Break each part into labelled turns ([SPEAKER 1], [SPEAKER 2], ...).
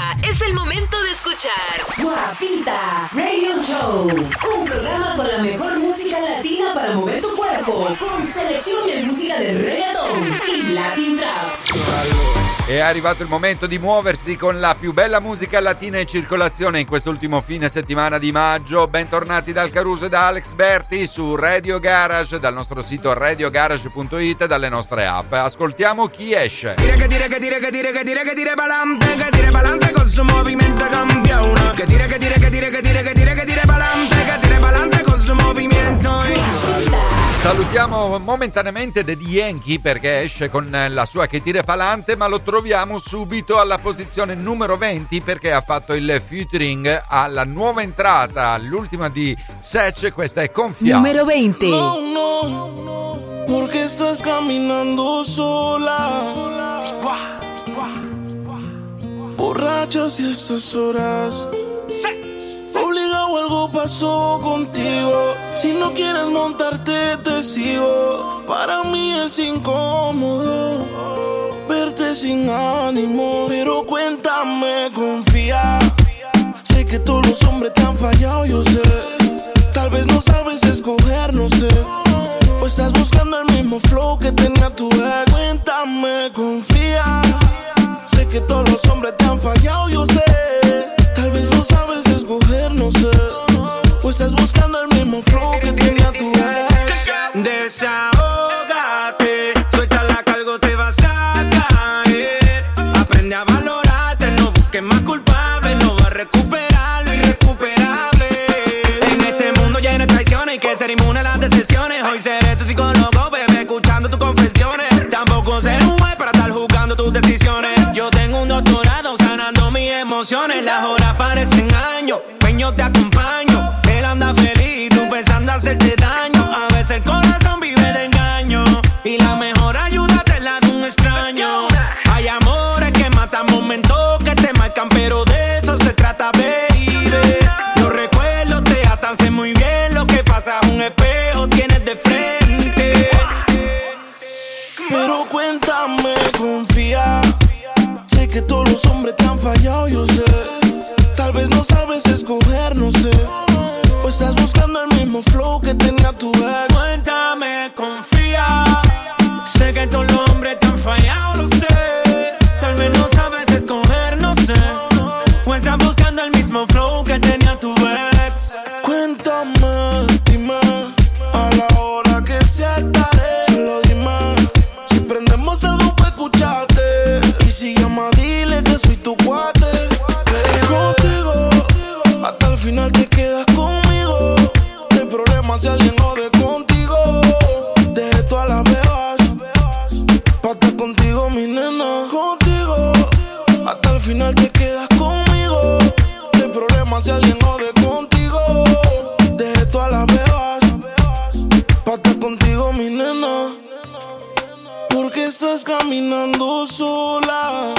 [SPEAKER 1] es el momento de escuchar
[SPEAKER 2] Guapita Radio Show, un programa con la mejor música latina para mover tu cuerpo, con selección de música de reggaeton y Latin Trap.
[SPEAKER 3] È arrivato il momento di muoversi con la più bella musica latina in circolazione in quest'ultimo fine settimana di maggio. Bentornati dal Caruso e da Alex Berti su Radio Garage, dal nostro sito radiogarage.it e dalle nostre app. Ascoltiamo chi esce.
[SPEAKER 4] Dire pa'lante con su movimento campione. Che dire pa'lante con su movimento.
[SPEAKER 3] Salutiamo momentaneamente Daddy Yankee perché esce con la sua Che tire pa'lante, ma lo troviamo subito alla posizione numero 20 perché ha fatto il featuring alla nuova entrata, l'ultima di Sech, questa è Confía.
[SPEAKER 2] Numero 20.
[SPEAKER 4] No, porque estás caminando sola, borracha si estas horas. Obligado, algo pasó contigo. Si no quieres montarte, te sigo. Para mí es incómodo verte sin ánimo. Pero cuéntame, confía. Sé que todos los hombres te han fallado, yo sé. Tal vez no sabes escoger, no sé. O estás buscando el mismo flow que tenía tu ex. Cuéntame, confía. Sé que todos los hombres te han fallado, yo sé. Tal vez no sabes escoger, no sé. O estás buscando el mismo flow que tenía tu ex. Desahógate, suelta la cargo, te vas a caer. Aprende a valorarte, no busques más culpable. No vas a recuperar lo irrecuperable. En este mundo lleno de traiciones, hay que ser inmune a las decepciones. Hoy seré tu psicólogo, bebé, escuchando tus confesiones. Tampoco ser un juez para estar juzgando tus decisiones. Yo tengo un doctorado sanando mis emociones. Las horas parecen años, peño te acompaño. Él anda feliz, tú pensando hacerte daño. A veces el corazón vive de engaño y la mejor ayuda te la da un extraño. Hay amores que matan, momentos que te marcan, pero de eso se trata, baby. Los recuerdos te atan, sé muy bien lo que pasa. Un espejo tienes de frente. Pero cuéntame, confía. Sé que todos los hombres te han fallado, yo sé. Tal vez no sabes escoger, no sé. O estás buscando el mismo flow que tenía tu ex. Cuéntame, confía. Sé que todos los hombres te han fallado, lo sé. Tal vez no sabes escoger, no sé. O estás buscando el mismo flow que tenía tu ex. Cuéntame, dime, a la hora que sea estaré. Solo dime, si prendemos algo para escucharte. Y si llama, dile que soy tu cuate. Contigo, hasta el final te quedas conmigo. No hay problema si alguien jode contigo. Dejé todas las bebas pa' estar contigo, mi nena. Contigo, hasta el final te quedas conmigo. No hay problema si alguien jode contigo. Dejé todas las bebas pa' estar contigo, mi nena. Porque estás caminando sola,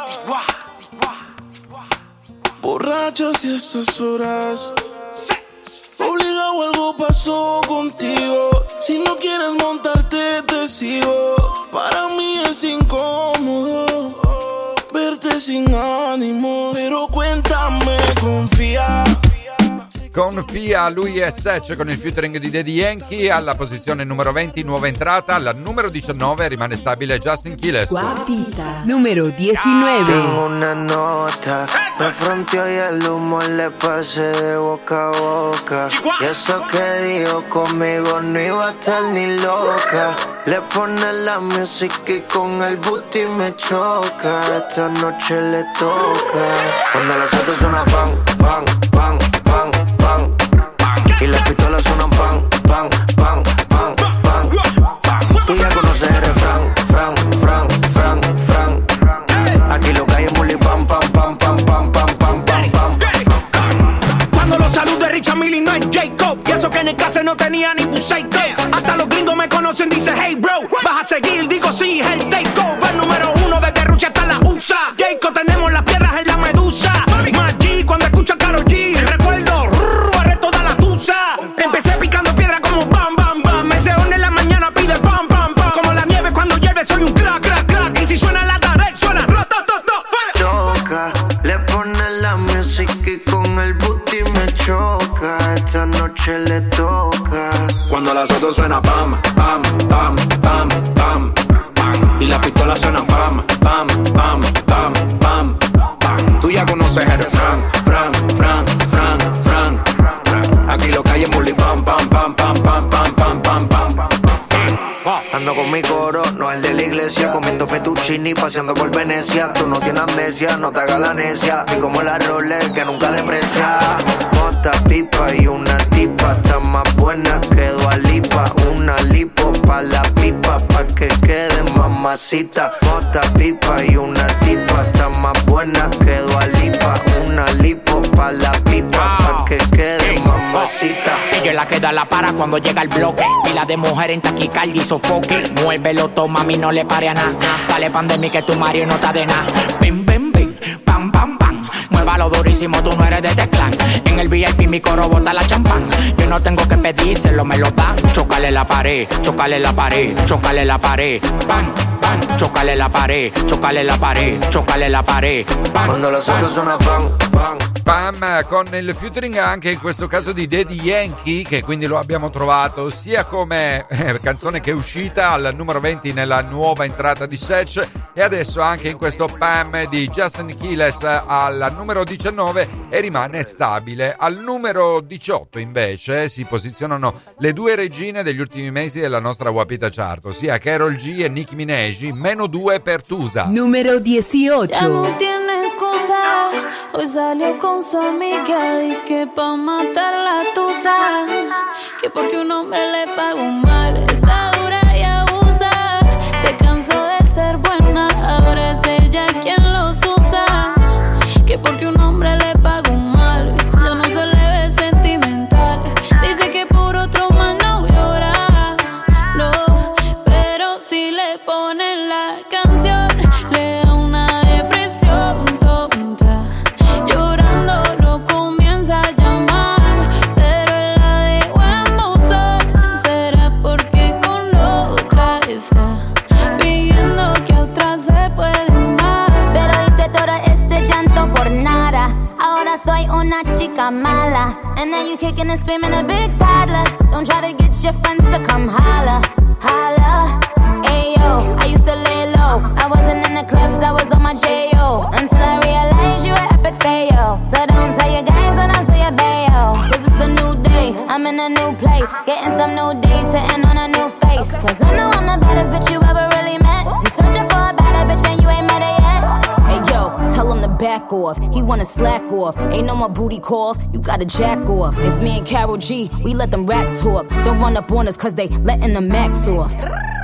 [SPEAKER 4] borracha si estas horas. Obligado, algo pasó contigo. Si no quieres montarte, te sigo. Para mí es incómodo verte sin ánimo. Pero cuéntame, confía.
[SPEAKER 3] Confía, lui è Sech con il featuring di Daddy Yankee alla posizione numero 20, nuova entrata. Alla numero 19 rimane stabile Justin Quiles.
[SPEAKER 2] Guapita. Numero 19.
[SPEAKER 5] Tengo una nota, me fronteó y el humo le pasé de boca a boca. Y eso que dijo conmigo no iba a estar ni loca. Le pone la música y con el booty me choca. Esta noche le toca. Cuando las autos suenan pan, pan, pan, pan, pan. Y las pistolas suenan pan, pan, pan, pan, pan. Tú ya conoces el refrán, fran, fran, fran, fran. Aquí lo que hay es muli pam, pam, pam, pam, pam, pam, pam, pam, pam.
[SPEAKER 4] Cuando los salude Richard Mille no es Jacob. Y eso que en el caso no tenía ni un psycho. Hasta los gringos me conocen, dice hey bro. Vas a seguir, digo sí, es el takeover. Número 1 desde Rusia hasta la USA. Jacob, tenemos las piedras en la medusa. Más G cuando escucho a Karol G. Recuerdo, arre toda la tusa. Empecé picando piedra como bam, bam, bam. Me se une en la mañana, pide bam, bam, bam. Como la nieve cuando llueve, soy un crack, crack, crack. Y si suena la tarde, suena rotototo.
[SPEAKER 5] Toca, le pone la música y con el booty me choca. Esta noche le toca.
[SPEAKER 6] Cuando las autos suena pam, pam, pam, pam, pam, pam. Y las pistolas suenan pam, pam, pam, pam, pam, pam. Tú ya conoces el Fran, Fran, Fran, Fran, Fran, Fran. Aquí lo que hay es bully pam, pam, pam, pam, pam, pam, pam, pam, pam.
[SPEAKER 5] Ando con mi coro, no el de la iglesia, comiendo fettuccini, paseando por Venecia. Tú no tienes amnesia, no te hagas la necia. Y como la Rolex que nunca deprecia. Mota, pipa y una tipa, está más buena que Dua Lipa. Una lipo pa' la pipa, pa' que quede mamacita. Mota, pipa y una tipa, está más buena que Dua Lipa. Una lipo pa' la pipa, pa' que quede mamacita.
[SPEAKER 7] Ella es la que da la para cuando llega el bloque. Pila de mujer en taquicardia y sofoque. Muévelo, toma, mami, no le pare a nada. Dale pandemia que tu Mario no está de nada. Bim, bim, bim, pam, pam, pam. Muévalo durísimo, tú no eres de este clan. En el VIP mi coro bota la champán. Yo no tengo que pedírselo, me lo dan. Chócale la pared, chócale la pared, chócale la pared. Bam, bam, chócale la pared, chócale la pared, chócale la pared. Bam,
[SPEAKER 5] quando la sotto suona pam, pam.
[SPEAKER 3] Pam, con il featuring anche in questo caso di Daddy Yankee, che quindi lo abbiamo trovato sia come canzone che è uscita al numero 20 nella nuova entrata di Sech, e adesso anche in questo Pam di Justin Quiles al numero 19, e rimane stabile. Al numero 18 invece si posizionano le due regine degli ultimi mesi della nostra Wapita Chart, ossia Karol G e Nicki Minaj, -2 per Tusa.
[SPEAKER 2] Numero 18.
[SPEAKER 8] Ya no tiene excusa, hoy salió con su amiga, dice que pa' matar la tusa, que porque un hombre le pagó mal, está dura y abusa, se cansó de ser buena, ahora es ella quien los usa, que porque un hombre le pagó mal, ya no se le ve sentimental, dice que por otro más no llora, no, pero si le ponen la canción, le da una depresión tonta, llorando lo comienza a llamar, pero él la dejó en buzón, será porque con otra está, fingiendo que a otra se puede amar.
[SPEAKER 9] Pero hice todo este llanto por nada, ahora soy una chica mala, and now you kicking and screaming a big toddler, don't try to get your friends to come holla, holla. Ayo, I used to lay low, I wasn't in the clubs, I was on my J.O. Until I realized you were epic fail. So don't tell your guys when I say a bayo, cause it's a new day, I'm in a new place, getting some new days, sitting on a new face. Cause I know I'm the baddest bitch you ever really met. You searching for a better bitch and you ain't met her yet. Hey yo, tell him to back off, he wanna slack off. Ain't no more booty calls, you gotta jack off. It's me and Karol G, we let them rats talk. Don't run up on us cause they letting the max off.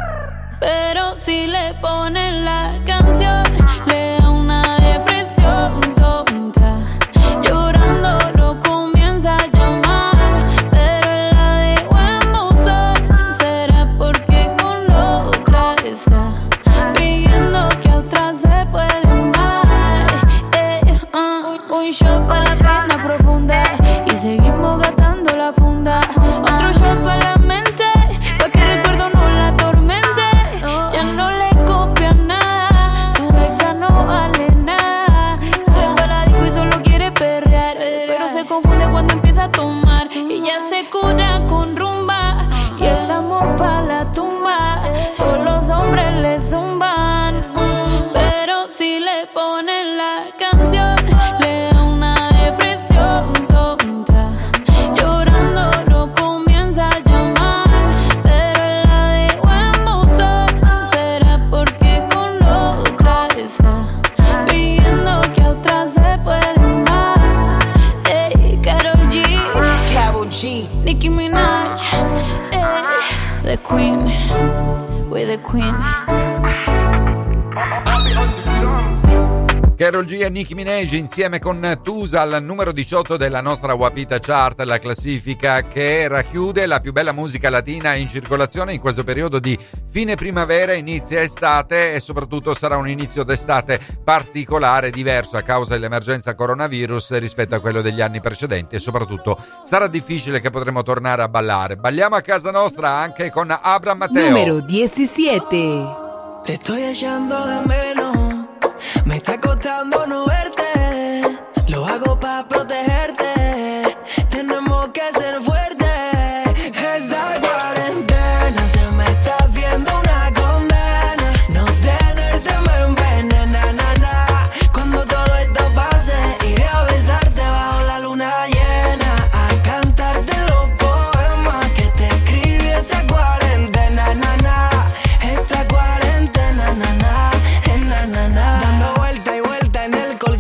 [SPEAKER 8] Pero si le ponen la canción, le da una depresión tonta, llorando lo comienza a llamar, pero él la dejó en buzón, será porque con otra está, fingiendo que a otra se puede amar. Un shot para la pena profunda y seguimos gastando la funda, otro shot para la mente, pa' que el recuerdo no la atormente. Ya no le copia nada, su ex ya no vale nada. Sale para la disco y solo quiere perrear, pero se confunde cuando empieza a tomar. Y ya se cura con rumba y el amor pa' la tumba. Todos los hombres le zumban, pero si le ponen la canción, le da una depresión tonta, llorando lo comienza a llamar, pero él la dejó en buzón, será porque con otra está, fingiendo que a otra se puede amar. Ey, Karol G, Nicki Minaj, the queen, we're the queen.
[SPEAKER 3] Karol G e Nicki Minaj insieme con Tusa al numero 18 della nostra Wapita Chart, la classifica che racchiude la più bella musica latina in circolazione in questo periodo di fine primavera, inizia estate, e soprattutto sarà un inizio d'estate particolare, diverso a causa dell'emergenza coronavirus rispetto a quello degli anni precedenti, e soprattutto sarà difficile che potremo tornare a ballare. Balliamo a casa nostra anche con Abraham Mateo.
[SPEAKER 2] Numero 17.
[SPEAKER 10] Te estoy echando de menos, me está costando no verte.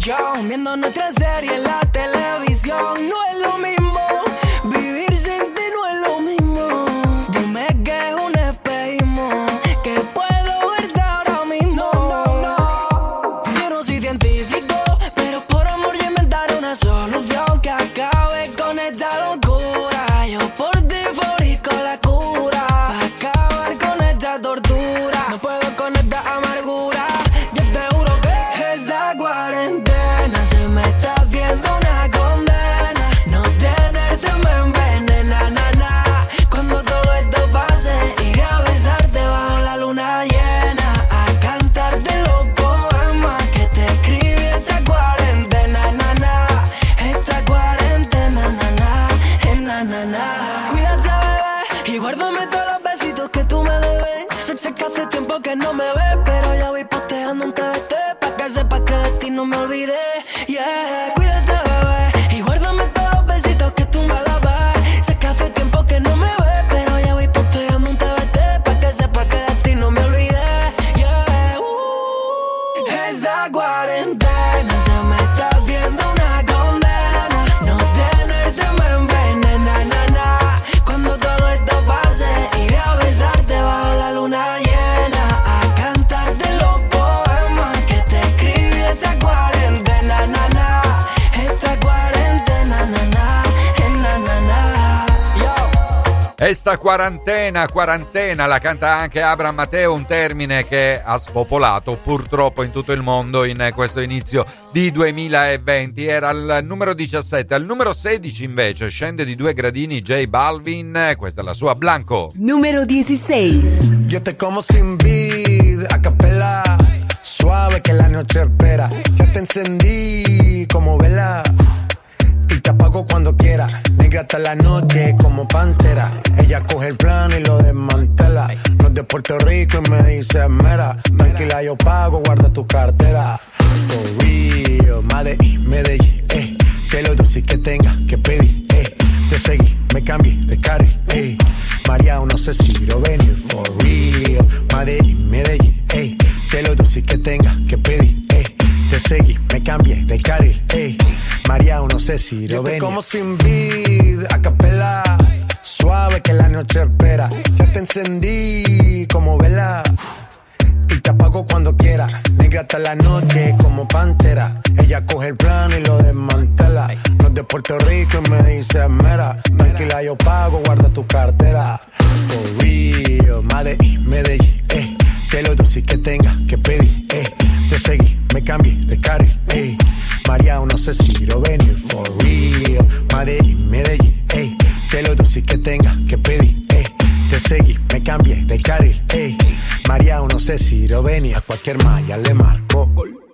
[SPEAKER 10] posición, viendo nuestra serie en la televisión. No es lo mismo, vivir sin ti no es lo mismo. Dime que es un espejismo, que puedo verte ahora mismo. Yo no soy científico, pero por amor yo inventaré una solución que acabe con esta locura. Yo por ti fabrico la cura, para acabar con esta tortura. No puedo con esta amargura. Yo te juro que esta cuarentena se me está haciendo una condena. No tenerte me envenena, na, na. Cuando todo esto pase, iré a besarte bajo la luna llena, a cantarte los poemas que te escribí esta cuarentena, na, na. Esta cuarentena, na, na, na, na, na. Cuídate, bebé, y guárdame todos los besitos que tú me debes. Sé que hace tiempo que no me ves, pero ya voy posteando un TBT, pa' que sepas que de ti no me olvidé. Yeah, cuídate, bebé, y guárdame todos los besitos que tú me dabas. Sé que hace tiempo que no me ves, pero ya voy posteando un TBT, pa' que sepas que de ti no me olvidé. Yeah, esta cuarentena se me está haciendo una condena. No tenerte me envenena, na, na. Cuando todo esto pase, iré a besarte bajo la luna llena, a cantarte los poemas que te escribí esta cuarentena, na, na. Esta cuarentena, na, na, na, na, na. Yo.
[SPEAKER 3] Esta quarantena la canta anche Abraham Mateo, un termine che ha spopolato purtroppo in tutto il mondo in questo inizio di 2020. Era al numero 17, al numero 16 invece scende di 2 gradini J Balvin, questa è la sua Blanco.
[SPEAKER 2] Número 16.
[SPEAKER 11] Yo te como sin vid, a capela, suave que la noche espera. Ya te encendí como vela y te apago cuando quiera. Negra hasta la noche como pantera. Ella coge el plano y lo desmantela. No es de Puerto Rico y me dice mera. Tranquila, yo pago, guarda tu cartera. For real, Medellín, que lo dulce que tenga que pedir, te seguí, me cambié de carril, María, no sé si lo venir. For real, Medellín, que lo dulce que tenga que pedir, te seguí, me cambié de carril, María, no sé si lo venir. Yo te como sin vid, a capela, suave que la noche espera. Ya te encendí como vela y te apago cuando quiera. Negra hasta la noche como pantera. Ella coge el plano y lo desmantela. No es de Puerto Rico y me dice mera. Tranquila, yo pago, guarda tu cartera. For real, Medellín, que lo dulce que tenga que pedir, te seguí, me cambié de carril, María, no sé si lo venir. For real, Medellín, que lo dulce que tenga que pedir, te seguí, me cambié de carril, María, no sé si lo venir. A cualquier malla le marco,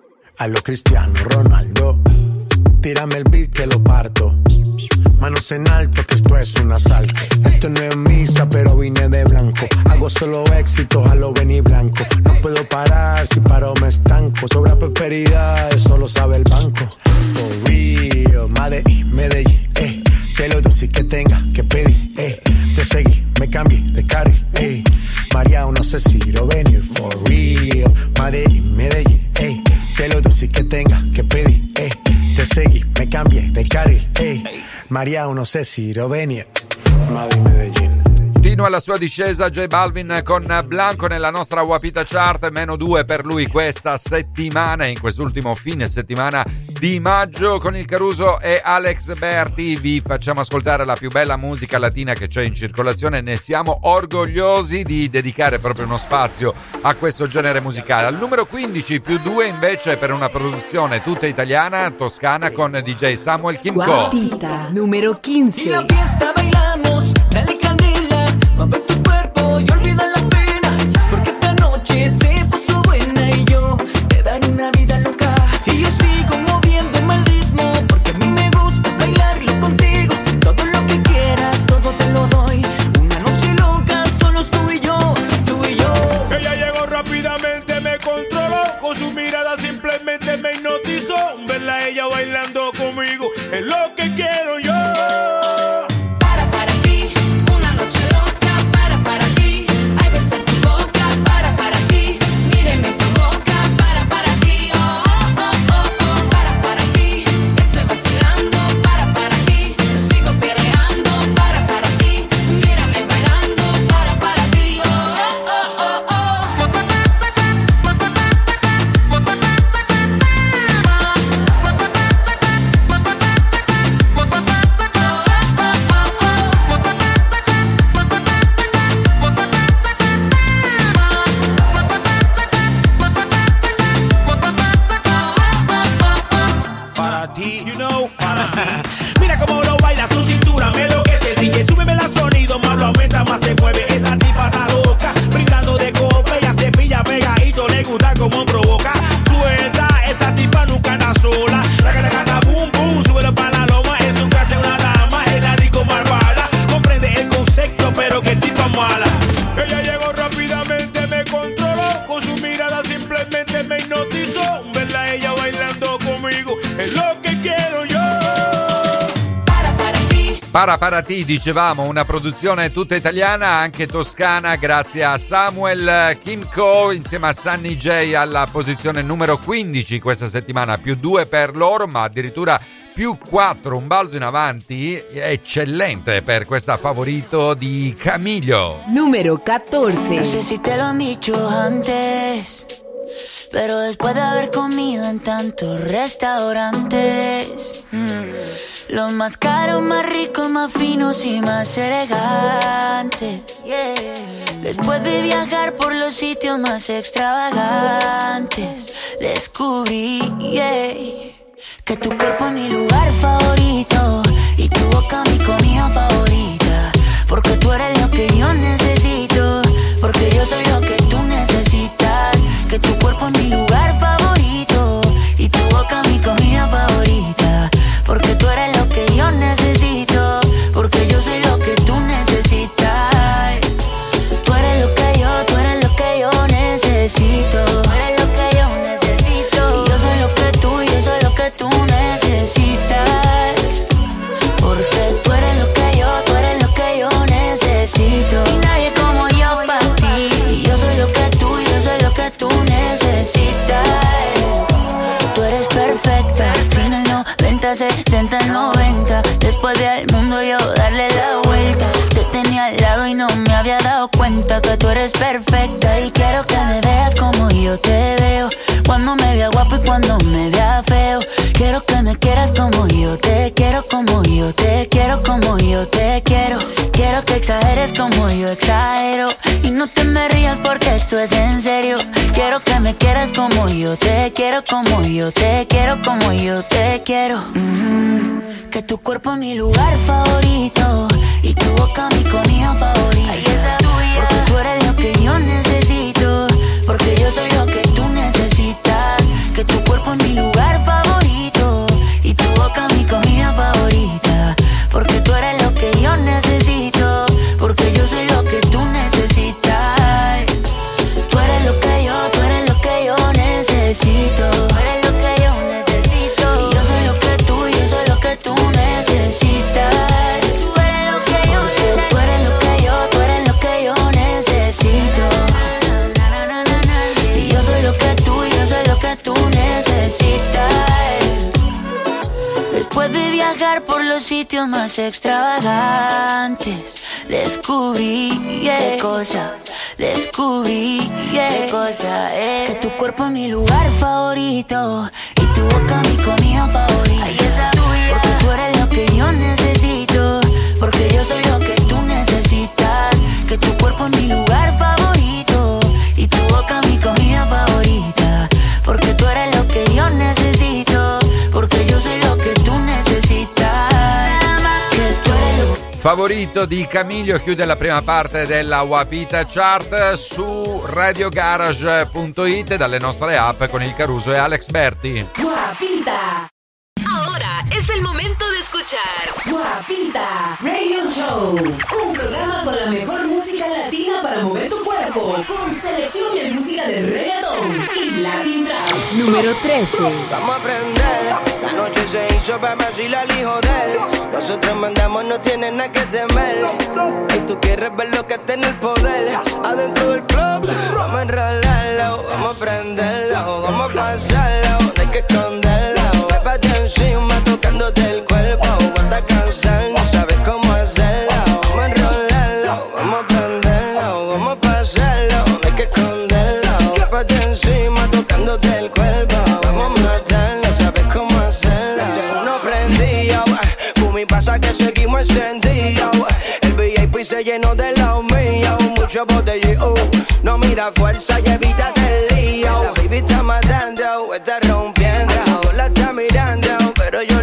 [SPEAKER 11] a lo Cristiano Ronaldo. Tírame el beat que lo parto. Manos en alto que esto es un asalto. Esto no es misa pero vine de blanco. Hago solo éxitos a lo venir blanco. No puedo parar, si paro me estanco. Sobra prosperidad, eso lo sabe el banco. For real, Medellín, que lo dulce que tenga que pedir, te seguí, me cambié de carril, María, no sé si lo venir. For real, Medellín, que lo dulce que tenga que pedir, te seguí, me cambié de carril, María, no sé si lo venir. Medellín.
[SPEAKER 3] Continua la sua discesa J Balvin con Blanco nella nostra Wapita Chart, -2 per lui questa settimana, in quest'ultimo fine settimana di maggio. Con il Caruso e Alex Berti vi facciamo ascoltare la più bella musica latina che c'è in circolazione. Ne siamo orgogliosi di dedicare proprio uno spazio a questo genere musicale. Al numero 15 +2 invece per una produzione tutta italiana, toscana, con DJ Samuel Kimco.
[SPEAKER 2] Wapita número 15.
[SPEAKER 10] Y la fiesta bailamos, dale candela, mueve tu cuerpo y olvida la pena, porque esta noche se puso buena y yo te daré una vida loca. Y yo sigo moviéndome al ritmo, porque a mí me gusta bailarlo contigo. Todo lo que quieras, todo te lo doy. Una noche loca, solo es tú y yo, tú y yo.
[SPEAKER 12] Ella llegó rápidamente, me controló, con su mirada simplemente me hipnotizó. Verla a ella bailando conmigo es lo que quiero yo. ti, you know, para ti. Mira cómo lo baila, su cintura me enloquece. DJ, súbeme la sonido, más lo aumenta, más se mueve. Esa tipa está loca, brindando de copa. Ella se pilla pegadito, le gusta como provoca. Suelta, esa tipa nunca anda sola. La cata boom boom, súbelo para la loma. En su casa es una dama, es la rico malvada. Comprende el concepto, pero que tipa mala. Ella llegó rápidamente, me controló. Con su mirada simplemente me hipnotizó. Verla a ella bailando conmigo es lo que quiero yo.
[SPEAKER 3] Para ti, dicevamo, una produzione tutta italiana, anche toscana, grazie a Samuel Kimco insieme a Sunny J alla posizione numero 15 questa settimana, +2 per loro, ma addirittura +4, un balzo in avanti eccellente per questa favorito di Camilo.
[SPEAKER 2] Número 14.
[SPEAKER 13] No sé si te lo han dicho antes, pero después de haber comido en tantos restaurantes, los más caros, más ricos, más finos y más elegantes, después de viajar por los sitios más extravagantes, descubrí, que tu cuerpo es mi lugar favorito y tu boca mi comida favorita, porque tú eres lo que yo necesito, porque yo soy lo que tú necesitas, que tu cuerpo es mi lugar favorito y tu boca mi comida favorita, porque tú eres lo que yo necesito, porque yo soy lo que tú necesitas, tú eres lo que yo necesito, tú eres lo que yo necesito, y yo soy lo que tú necesitas, porque tú eres lo que yo necesito, y nadie como yo para ti, y yo soy lo que tú necesitas, tú eres perfecta, sin el 90, 60, 90, después del mundo yo darle la vuelta, te tenía al lado y no me había dado cuenta que tú eres perfecta, y quiero que me veas como yo te veo, cuando me vea guapo y cuando me vea feo, quiero que me quieras como yo te quiero, como yo te quiero, como yo te quiero, quiero que exageres como yo exagero, y no te me rías porque esto es en serio, quiero que me quieras como yo te quiero, como yo te quiero, como yo te quiero, que tu cuerpo es mi lugar favorito y tu boca mi comida favorita, porque tú eres lo que yo necesito, porque yo soy lo que tú necesitas, que tu cuerpo es mi lugar favorito y tu boca mi comida favorita, porque tú eres lo que yo necesito, porque yo soy lo que tú necesitas, tú eres lo que yo necesito, tú eres lo que yo necesito, y yo soy lo que tú necesitas, tú eres lo que yo necesito, tú eres lo que yo necesito, y yo soy lo que tú necesitas, después de viajar por los sitios más extravagantes, descubrí, qué cosa, que tu cuerpo es mi lugar favorito y tu boca mi comida favorita, porque tú eres lo que yo necesito, porque yo soy lo que tú necesitas, que tu cuerpo es mi lugar favorito y tu boca mi comida favorita, porque tú eres lo que yo necesito, porque yo soy lo que tú necesitas, que tú eres lo que...
[SPEAKER 3] Favorito di Camilo chiude la prima parte della Wapita Chart su radiogarage.it dalle nostre app con il Caruso e Alex Berti.
[SPEAKER 2] Guapita.
[SPEAKER 1] Ahora es el momento de escuchar
[SPEAKER 2] Guapita Radio Show, un programa con la mejor música latina para mover tu cuerpo, con selección de música de reggaetón y Latin Trap. Número 13.
[SPEAKER 14] Vamos a aprender, la noche se hizo para decirle al hijo de él, nosotros mandamos, no tiene nada que temer, y tú quieres ver lo que está en el poder, adentro del club, vamos a enrolarlo, vamos a prenderlo, vamos a pasarlo, no hay que esconderlo, pépate encima tocándote el cuerpo, aguanta cansar, no sabes cómo hacerlo, vamos a enrolarlo, vamos a prenderlo, vamos a pasarlo, no hay que esconderlo, pépate encima tocándote el cuerpo, vamos a matarlo, no sabes cómo hacerlo, no prendido, mi pasa que seguimos encendidos, el VIP se llenó de los míos, mucho botellón, no mira fuerza y evítate el lío, la baby está matando, está rompiendo, la está mirando, pero yo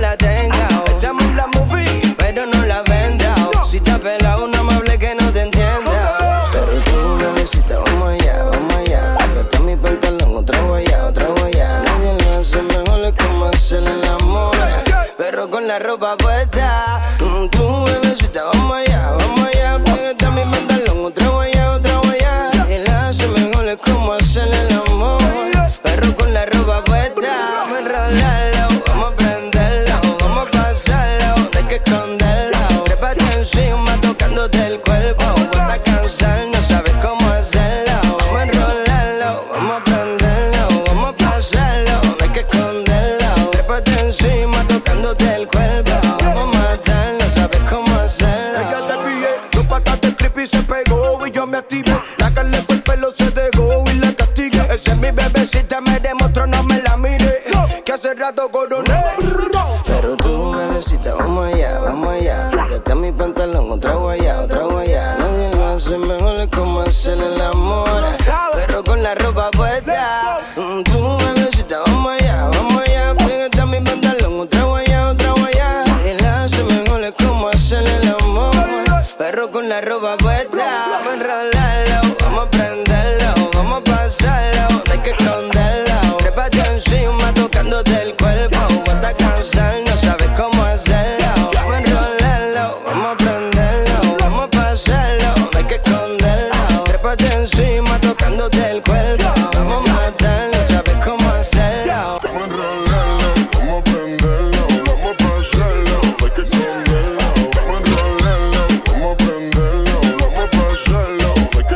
[SPEAKER 14] el amor, pero con la ropa puesta. Tú, bebecita, vamos allá, pégate a mi pantalón, otra guayá. Y la hace mejor es como hacer el amor, pero con la ropa puesta. Vamos a enrolarlo, vamos a prenderlo, vamos a pasarlo, no hay que esconderlo. Trépate encima tocándote el cuerpo, vuelta a cansar, no sabes cómo hacerlo. Vamos a enrolarlo, vamos a prenderlo, vamos a pasarlo, no hay que esconderlo. Trépate encima tocándote el cuerpo, vamos a matar, no sabes cómo hacerlo.
[SPEAKER 15] Ella te pillé, tu patate creepy se pegó y yo me activé. La carne por el pelo se dejó y la castigué. Esa es mi bebecita, me demostró, no me la mire, que hace rato coroné.
[SPEAKER 14] Pero tú, bebecita, vamos allá. Pégate a mi pantalón, otra guayá. Nadie lo hace mejor, es como hacer el amor, pero con la ropa puesta. Tú, bebecita, vamos allá. Pégate a mi pantalón, otra guayá. Nadie lo hace mejor, es como hacer el amor, pero con la ropa puesta. Vamos a enrolarlo, vamos a prenderlo, vamos a pasarlo, no hay que esconderlo. Trépate encima tocándote el cuerpo, vuelta a cansar, no sabes cómo hacerlo. Vamos a enrolarlo, vamos a prenderlo, vamos a pasarlo, no hay que esconderlo. Trépate encima tocándote el cuerpo, vamos a matar, no sabes cómo hacerlo.
[SPEAKER 15] Vamos a enrolarlo, vamos a prenderlo, vamos a pasarlo, no hay que esconderlo. Vamos a enrolarlo, vamos a prenderlo, vamos a pasarlo, no hay que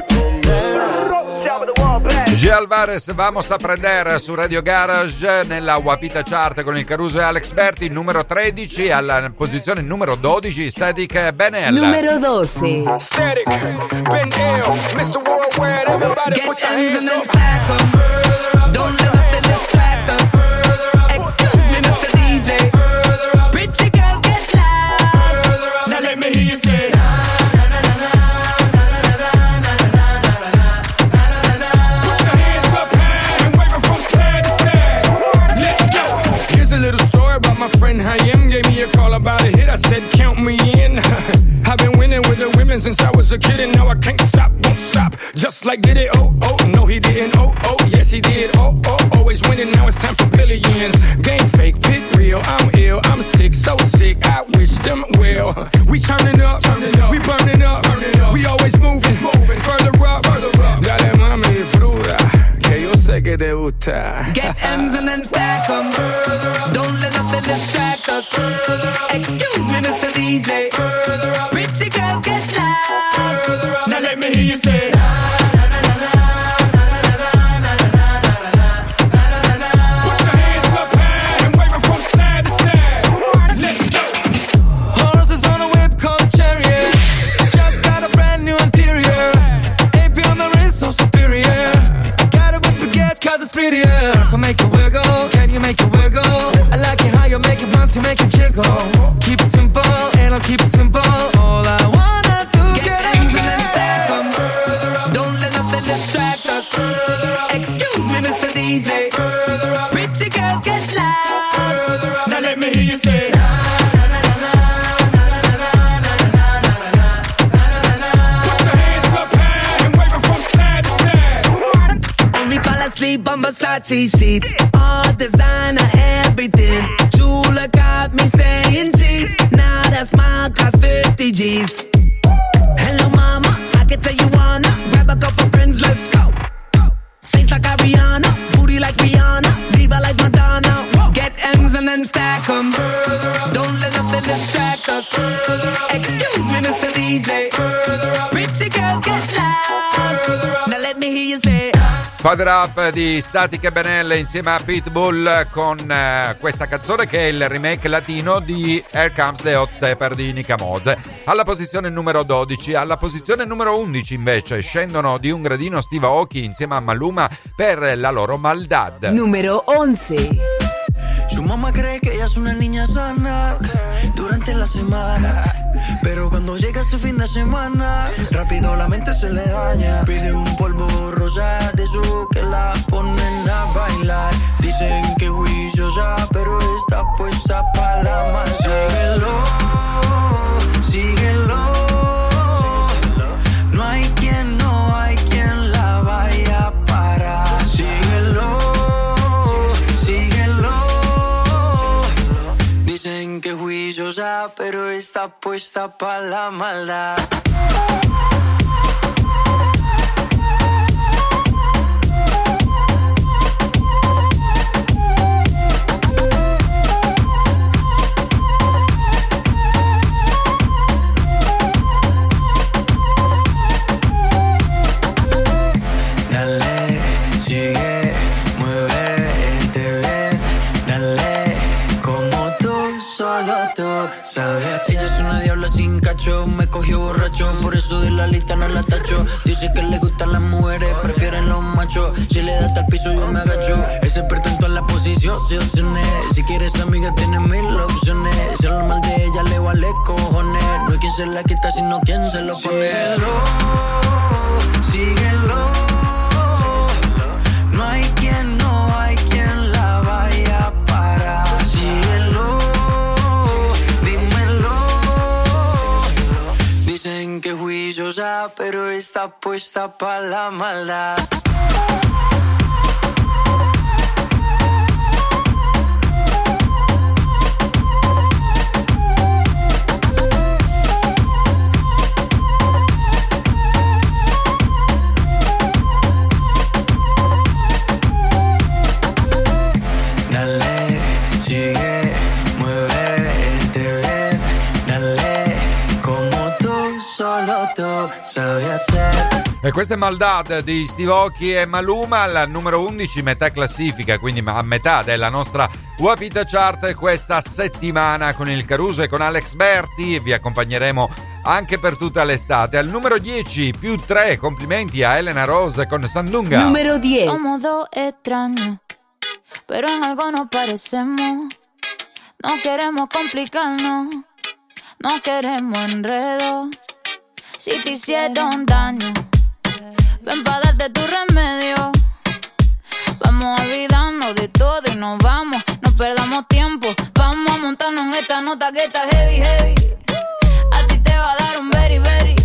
[SPEAKER 15] esconderlo.
[SPEAKER 3] G. Alvarez, Vamos a prender su Radio Garage nella Wapita Chart con il Caruso e Alex Berti, numero 13, alla posizione numero 12 Static Ben L.
[SPEAKER 2] Numero 12.
[SPEAKER 12] Static, Ben L, Mr. Worldwide, everybody put your hands up.
[SPEAKER 10] Don't let nothing distract us. Excuse me, Mr. DJ. Pretty girls get loud. Now let me hear you say.
[SPEAKER 12] Put your hands up high and wave 'em from side to side. Let's go. Here's a little story about my friend Hayem. Gave me a call about a hit. I said, count me in. I've been winning with the women since I was a kid, and now I can't stop, won't stop. Just like did it, oh, no he didn't, oh, yes he did, oh, always winning, now it's time for billions. Game fake, pit real, I'm ill, I'm sick, so sick, I wish them well. We turning up, we burning up, we always moving, further up, dale mami, disfruta, que yo sé que te gusta.
[SPEAKER 10] Get M's and then stack 'em. Don't let nothing distract us. Excuse me, Mr. DJ. Pretty girls get loud. Now let me hear you say.
[SPEAKER 12] Put your hands up high and wave 'em from side to side. Let's go.
[SPEAKER 10] Horses on a whip called a chariot. Just got a brand new interior. AP on the wrist, so superior. Got it with baguettes, cause it's prettier. So make it wiggle, can you make it wiggle? I like it how you make it once you make it jiggle. Keep it simple, and I'll keep it simple. All I wanna do is get M's and then stack 'em. Don't let nothing distract us. Excuse me, Mr. DJ. Pretty girls get loud.
[SPEAKER 12] Now let me hear you say. Put your hands up high and wave 'em from side to side.
[SPEAKER 10] Only fall asleep on Versace sheets. All designer, everything. Jula got me saying cheese. Now that smile costs 50 G's. Hello mama, I can tell you wanna grab a couple friends, let's go. Face like Ariana, booty like Rihanna, diva like Madonna. Get M's and then stack 'em. Don't let nothing distract us. Excuse me, Mr. DJ. Pretty girls get loud. Now let me hear you say.
[SPEAKER 3] Father Up di Static Benelle insieme a Pitbull con questa canzone che è il remake latino di Here Comes the Hot Stepper di Nica Mose. Alla posizione numero 12, alla posizione numero 11 invece scendono di un gradino Steve Aoki insieme a Maluma per la loro Maldad.
[SPEAKER 2] Numero 11.
[SPEAKER 10] Su mamá cree que ella es una niña sana durante la semana, pero cuando llega ese fin de semana rápido la mente se le daña. Pide un polvo rosa de eso que la ponen a bailar. Dicen que juiciosa, pero está puesta pa' la masa. Síguelo, síguelo. No hay quien la vaya a parar. Síguelo, síguelo. Dicen que juiciosa, pero está puesta pa' la maldad.
[SPEAKER 16] Dale, sigue, muévete bien. Dale, como tú, solo tú sabes.
[SPEAKER 10] Ella es una diabla sin cacho, me cogió borracho, por eso de la lista no la tacho. Dice que le gustan las mujeres, prefieren los machos. Si le da hasta el piso yo me agacho. Es experto en todas las posiciones. Si quieres amiga tienes mil opciones. Si hablar mal de ella le vale cojones. No hay quien se la quita sino quien se lo pone.
[SPEAKER 16] Síguelo.
[SPEAKER 10] No hay quien la vaya a parar.
[SPEAKER 16] Síguelo, dímelo.
[SPEAKER 10] Dicen que juiciosa, pero está puesta pa' la maldad.
[SPEAKER 16] Dale, sigue, muévete bien. Dale, como tú, solo tú sabes hacer.
[SPEAKER 3] E questa è Maldad di Steve Aoki e Maluma al numero 11, metà classifica, quindi a metà della nostra Wapita Chart questa settimana con il Caruso e con Alex Berti. Vi accompagneremo anche per tutta l'estate. Al numero 10, più 3, complimenti a Elena Rose con Sandunga.
[SPEAKER 8] Numero 10. Somos dos extraños, pero en algo nos parecemos. No queremos complicarnos, no queremos enredo. Si te hicieron daño, ven pa' darte tu remedio. Vamos a olvidarnos de todo y nos vamos. No perdamos tiempo, vamos a montarnos en esta nota que está heavy, heavy. A ti te va a dar un very, very.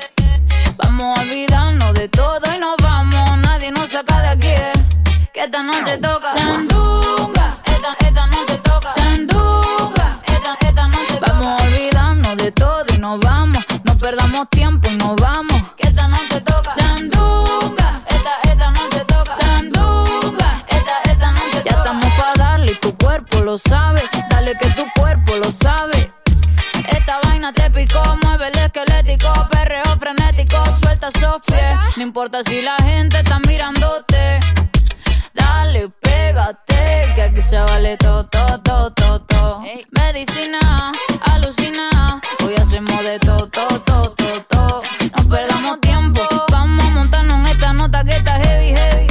[SPEAKER 8] Vamos a olvidarnos de todo y nos vamos. Nadie nos saca de aquí, que esta noche toca Sandunga. Esta noche toca Sandunga. Esta noche toca. Vamos a olvidarnos de todo y nos vamos. No perdamos tiempo y nos vamos. Que esta noche toca Sandunga. Esta noche toca Sandunga. Esta noche toca. Ya estamos pa' darle y tu cuerpo lo sabe. Dale que tu cuerpo lo sabe. Esta vaina te picó, mueve el esquelético, perreo frenético, suelta esos pies. No importa si la gente está mirándote. Dale, pégate, que aquí se vale todo, todo, todo, todo, todo. Medicina, alucina, hoy hacemos de todo, todo, todo, todo, todo. No perdamos tiempo, vamos a montarnos en esta nota que está heavy, heavy.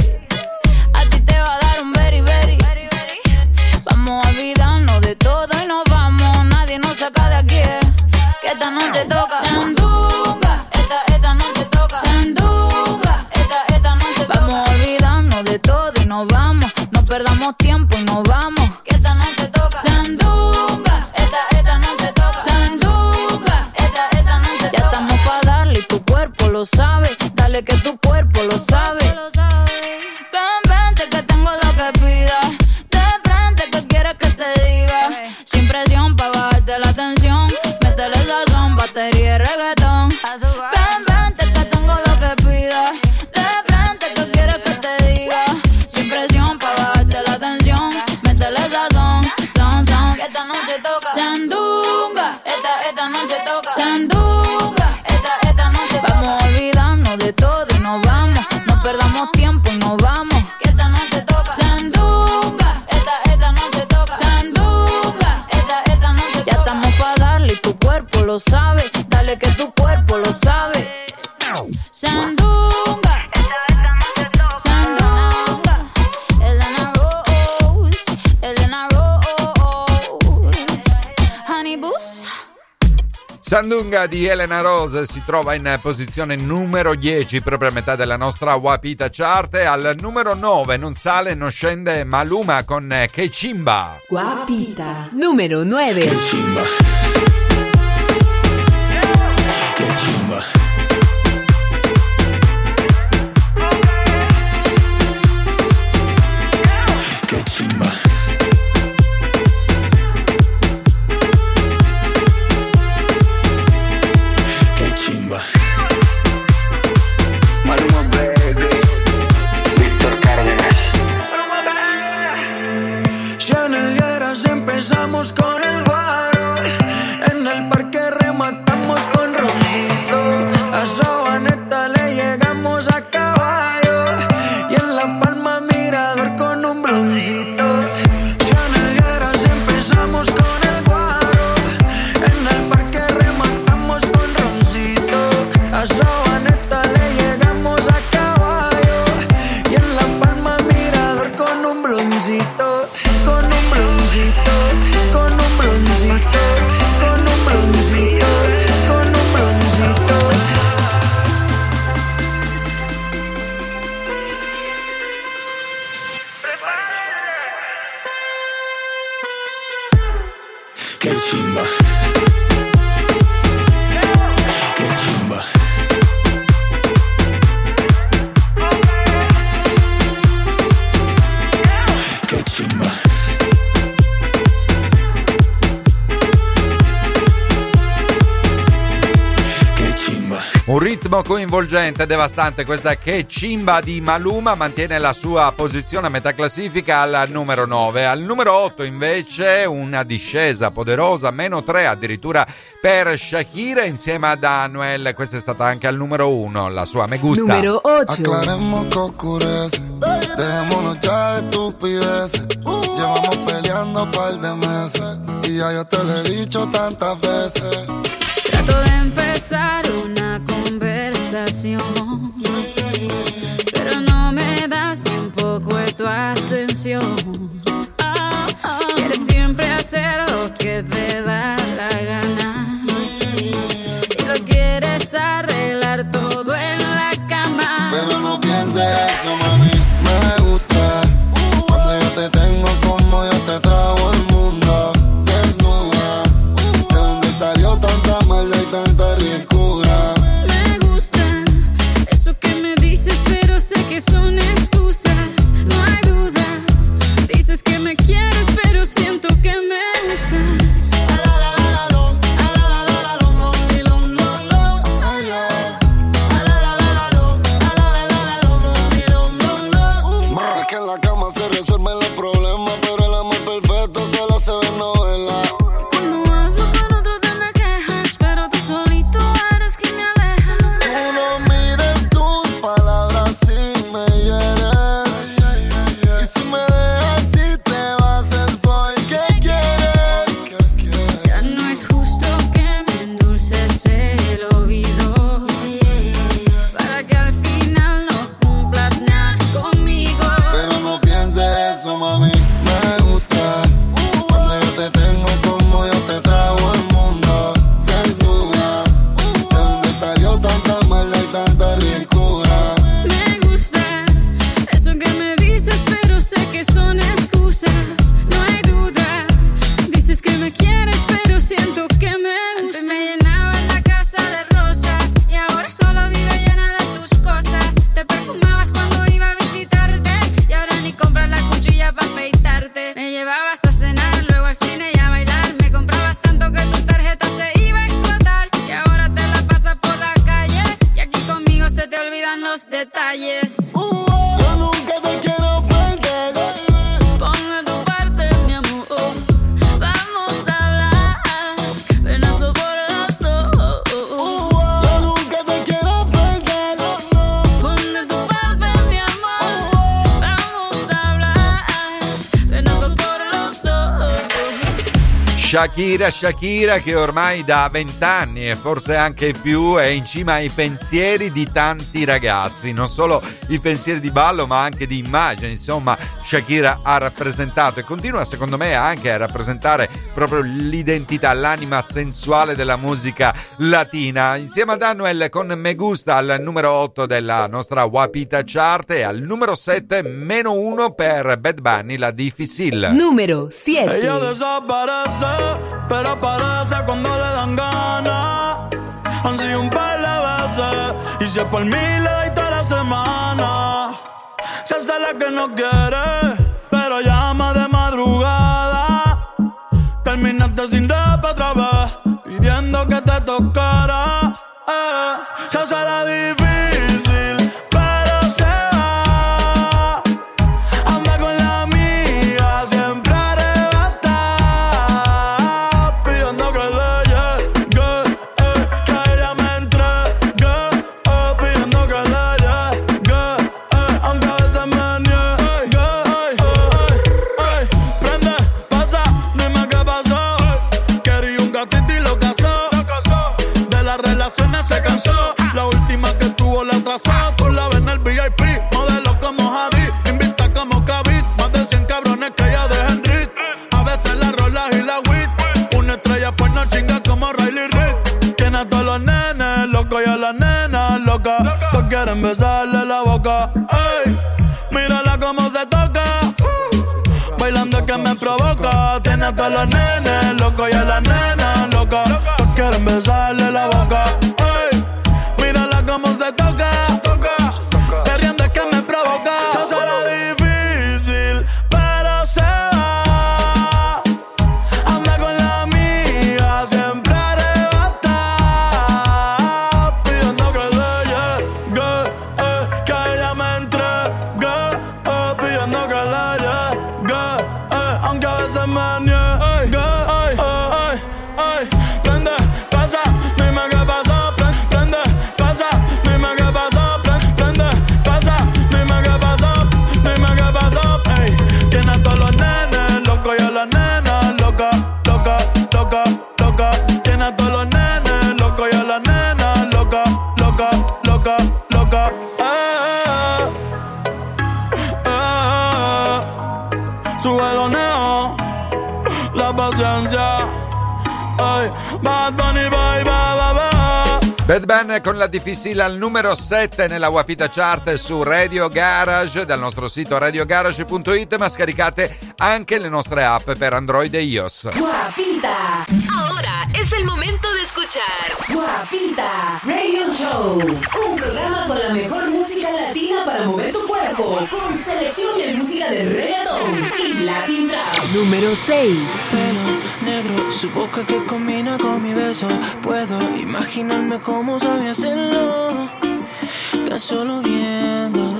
[SPEAKER 8] A ti te va a dar un very, very. Vamos a olvidarnos de todo y nos vamos. Nadie nos saca de aquí, que esta noche toca Sandunga. Esta noche toca Sandunga. Esta noche toca. Vamos a olvidarnos de todo y nos vamos. No perdamos tiempo y nos vamos. Que esta noche toca Sandunga. Esta noche toca Sandunga. Esta noche toca. Ya estamos pa' darle y tu cuerpo lo sabe. Dale que tu cuerpo lo sabe. Ven, vente que tengo lo que pidas. De frente que quieres que te diga. Sin presión pa' bajarte la tensión. Métele sazón, batería y reggaetón. Ven, vente que tengo lo que pidas. De frente que quieres que te diga. Sin presión pa' bajarte la tensión. Métele sazón, son, son. Que esta noche toca Sandunga. Esta noche toca Sandunga. Esta noche toca. Vamos a olvidarnos de todo y nos vamos. No perdamos tiempo y nos vamos. Que esta noche toca Sandunga. Esta noche toca Sandunga. Esta noche toca. Ya estamos pa' darle y tu cuerpo lo sabe. Dale que tu cuerpo lo sabe. Sandunga. Sandunga. Elena Rose. Elena Rose. Honey Boost.
[SPEAKER 3] Sandunga di Elena Rose si trova in posizione numero 10, proprio a metà della nostra Wapita Chart. E al numero 9 non sale, non scende Maluma con Che Chimba.
[SPEAKER 2] Wapita numero 9.
[SPEAKER 16] Che chimba. Che chimba. Che chimba.
[SPEAKER 10] con el guaro. En el parque rematamos con roncito. A Sabaneta le llegamos a caballo. Y en La Palma mirador con un bloncito. Si a Nelgueras empezamos con el guaro. En el parque rematamos con roncito. A Sabaneta le llegamos a caballo. Y en La Palma mirador con un bloncito. Con un bloncito, con un bloncito, con un bloncito, con un bloncito.
[SPEAKER 16] Qué chimba. Qué chimba. Qué chimba. Qué chimba.
[SPEAKER 3] Un ritmo coinvolgente e devastante, questa Che Chimba di Maluma mantiene la sua posizione a metà classifica al numero 9. Al numero 8 invece una discesa poderosa, -3 addirittura per Shakira insieme ad Anuel. Questa è stata anche al numero 1, la sua Me Gusta.
[SPEAKER 2] Numero 8.
[SPEAKER 4] Aclaremos que oscurece, dejémonos ya de estupideces. Llevamos peleando un par de meses y ya yo te lo he dicho tantas veces.
[SPEAKER 8] Trato de empezar una conversación, pero no me das ni un poco de tu atención. Quieres siempre hacer lo que te da la gana y lo quieres arreglar todo en la cama.
[SPEAKER 4] Pero no pienses eso, mami. Me gusta cuando yo te tengo como yo te trago el mundo. Desnuda, de donde salió tanta maldad y tanta ricura.
[SPEAKER 8] Me gusta eso que me dices, pero sé que son excusas. No hay duda. Dices que me quieres, pero siento que me usas.
[SPEAKER 4] Es que en la cama se resuelven los problemas, pero el amor perfecto solo se ve en novela.
[SPEAKER 8] Cuando hablo con otro te me quejas, pero tú solito eres quien me aleja.
[SPEAKER 4] Tú no mides tus palabras si me hieres. Y si me dejas, si te vas es porque quieres.
[SPEAKER 8] Ya no es justo que me endulces el oído para que al final no cumplas nada conmigo.
[SPEAKER 4] Pero no pienses eso, mami. Me gusta cuando yo te tengo como yo te trago el mundo. Desnuda, de donde salió tanta maldad y tanta ricura.
[SPEAKER 8] Me gusta eso que me dices, pero sé que son excusas. No hay duda. Dices que me quieres, pero siento que me usas. Antes me llenaba la casa de rosas y ahora solo vive llena de tus cosas. Te perfumabas cuando iba a visitarte y ahora ni compras la cuchilla para afeitarte. Me llevabas a cenar, luego al cine y a bailar. Me comprabas tanto que tu tarjeta se iba a explotar y ahora te la pasas por la calle y aquí conmigo se te olvidan los detalles.
[SPEAKER 4] Yo nunca te quiero perder.
[SPEAKER 8] Pon de tu parte, mi amor. Vamos a hablar. Ven, hazlo por los dos.
[SPEAKER 4] Yo nunca te quiero perder.
[SPEAKER 8] Pon de tu parte, mi amor. Vamos a hablar. Ven, hazlo por los dos.
[SPEAKER 3] Shakira che ormai da 20 anni e forse anche più è in cima ai pensieri di tanti ragazzi, non solo i pensieri di ballo ma anche di immagine. Insomma, Shakira ha rappresentato e continua secondo me anche a rappresentare proprio l'identità, l'anima sensuale della musica latina. Insieme ad Anuel con Me Gusta al numero 8 della nostra Wapita Chart e al numero 7 -1 per Bad Bunny, La Difícil.
[SPEAKER 2] Numero 7.
[SPEAKER 12] Ella desaparece, pero aparece cuando le dan ganas. Han sido un par de veces y si es por mí le doy toda la semana. Se hace la que no quiere, pero llama de madrugada. Terminaste sin rap otra vez, pidiendo que te tocara. Se hace la difícil, pero se va. Anda con la amiga, siempre arrebatada.
[SPEAKER 17] se cansó. La última que tuvo la atrasó. Tú la ves en el VIP, modelo como Hadid, invita como Khabib, más de 100 cabrones que ella deja en Rit. A veces la rola y la weed, una estrella pues no chinga como Riley Reid. Tiene a todos los nenes locos y a las nenas locas, todos quieren besarle la boca. Ey, mírala como se toca, bailando que me provoca. Tiene a todos los nenes locos y a las nenas locas, todos quieren besarle la boca. Ey, mírala como se toca, perreando es que me provoca. Se será difícil, pero se va. Anda con la amiga, siempre arrebata, pidiendo que le llegue, que ella me entregue, pidiendo que le llegue, aunque a veces me niegue. Prende, pasa, dime qué pasó. Prende, pasa, dime qué pasó. Prende, pasa, dime qué pasó. Dime qué pasó. Ey, tiene a todos los nenes locos y a las nenas loca, loca, loca, loca. Tiene a todos los nenes locos y a las nenas loca, loca, loca, loca. Sube los neos, la paciencia. Ay, Bad Bunny, bye, bye, bye, bye.
[SPEAKER 3] Bad Bunny con la difficile al numero 7 nella Guapita Chart su Radio Garage, dal nostro sito radiogarage.it, ma scaricate anche le nostre app per Android e iOS.
[SPEAKER 2] Guapita.
[SPEAKER 1] Ahora es el momento de escuchar
[SPEAKER 2] Guapita Radio Show, un programa con la mejor música latina para mover tu cuerpo, con selección de música de reggaeton y Latin Trap.
[SPEAKER 10] Número 6.
[SPEAKER 18] Pelo negro, su boca que combina con mi beso. Puedo imaginarme cómo sabe hacerlo, tan solo viendo,